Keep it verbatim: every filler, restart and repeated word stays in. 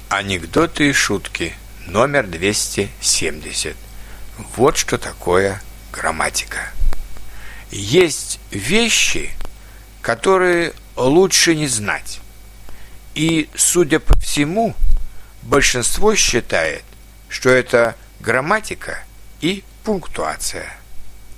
Анекдоты и шутки номер двести семьдесят. Вот что такое грамматика. Есть вещи, которые лучше не знать. И, судя по всему, большинство считает, что это грамматика и пунктуация.